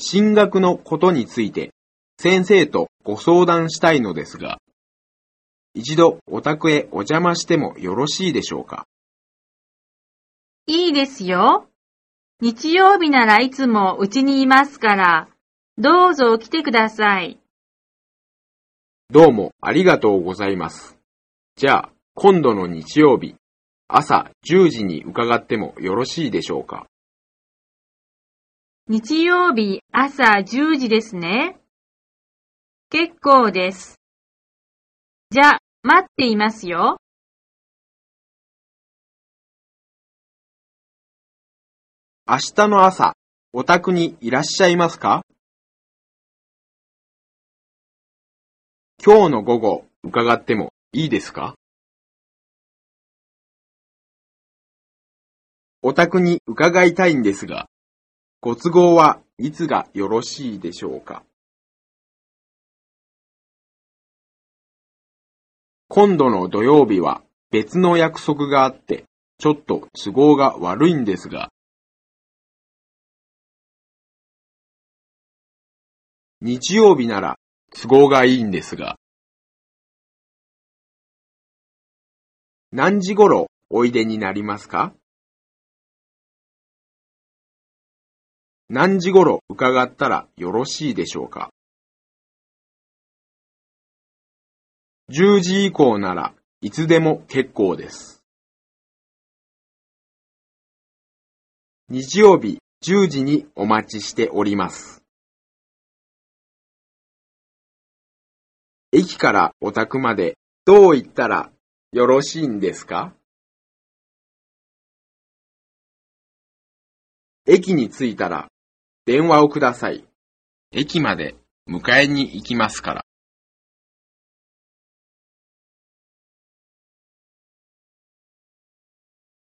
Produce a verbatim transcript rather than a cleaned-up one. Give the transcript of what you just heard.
進学のことについて先生とご相談したいのですが、一度お宅へお邪魔してもよろしいでしょうか？ いいですよ。日曜日ならいつもうちにいますから、どうぞ来てください。 どうもありがとうございます。じゃあ、今度の日曜日、朝じゅうじに伺ってもよろしいでしょうか？ 日曜日朝じゅうじですね。結構です。じゃ、待っていますよ。 明日の朝、お宅にいらっしゃいますか？今日の午後、伺ってもいいですか？お宅に伺いたいんですが、ご都合はいつがよろしいでしょうか？今度の土曜日は別の約束があって、ちょっと都合が悪いんですが、日曜日なら都合がいいんですが、何時頃おいでになりますか？何時頃伺ったらよろしいでしょうか？じゅうじ以降ならいつでも結構です。日曜日じゅうじにお待ちしております。駅からお宅までどう行ったらよろしいんですか？駅に着いたら電話をください。駅まで迎えに行きますから。